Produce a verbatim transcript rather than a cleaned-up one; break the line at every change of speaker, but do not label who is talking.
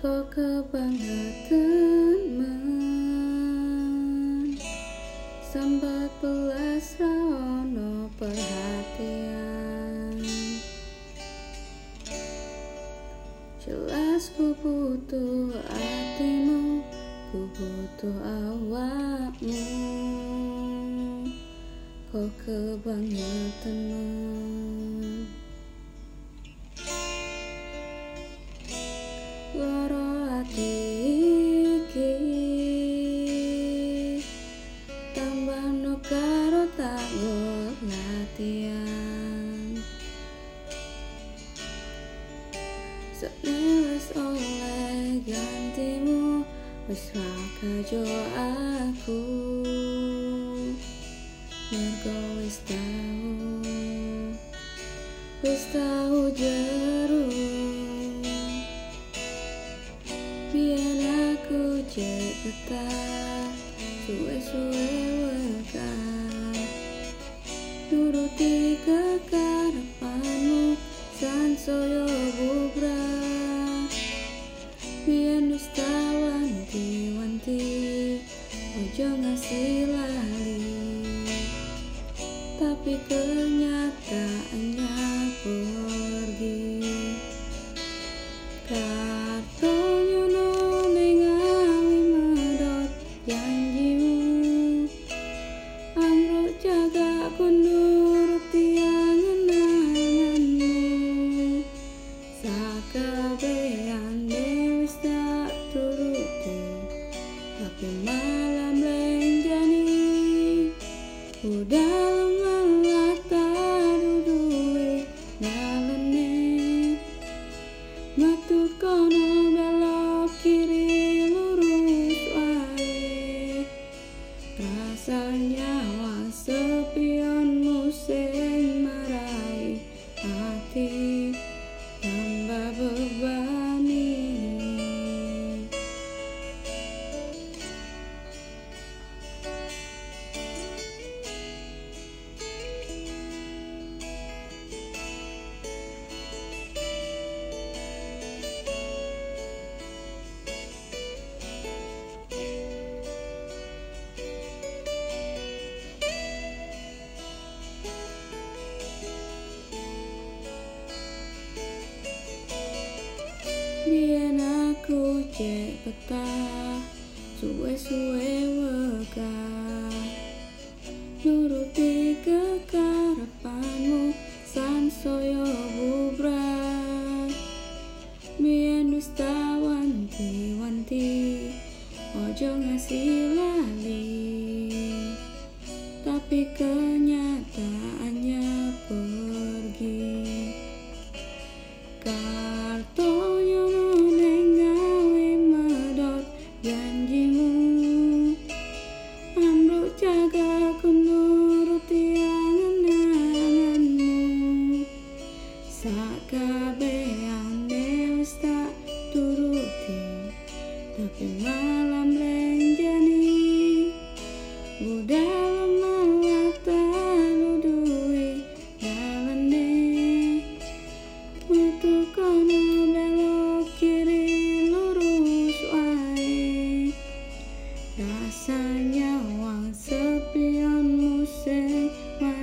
Kok kebangetan men sambat belas raono perhatian. Jelas ku butuh hatimu, ku butuh awakmu. Kok kebangetan men loro ati iki, tambah no karo tanggul latihan. Sakne wis oleh gantimu, wis ra kajo aku, mergo wis tau, wis tau jeru. Biar aku cek betah, suwe-suwe wekah, nuruti kekarepanmu sansaya bubrah. Biar dusta wanti-wanti, ojo ngasih lali, tapi kenyataannya pergi. Kartonyo no nengawi medot janjimu, amruk jaga ku nuruti angan-anganmu. Sakabehan wis tak turuti, tapi malam lenjani udah malah tak duduwe nalene. Metu kono belok kiri lurus wae, rasanya wang sepionmu sing marai hati tambah bebani. Biar aku cek betah, suwe-suwe wekah, nuruti kekarepanmu sansaya bubrah. Biar dusta wanti-wanti, ojo ngasih lali, tapi kenyataannya pergi. Kartonyo no nengawi medot janjimu, amruk jaga ku nuruti angan-anganmu. Sakabehan wis tak turuti, tapi malam lenjani udah malah tak duwe dalane. Metu kono belok kiri lurus wae, rasanya wang sepionmu sing